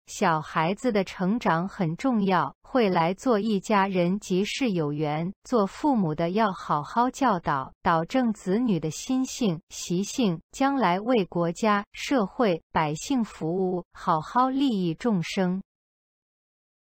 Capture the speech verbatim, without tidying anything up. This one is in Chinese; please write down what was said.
小孩子的成长很重要，会来做一家人即是有缘。做父母的要好好教导，导正子女的心性、习性，将来为国家、社会、百姓服务，好好利益众生。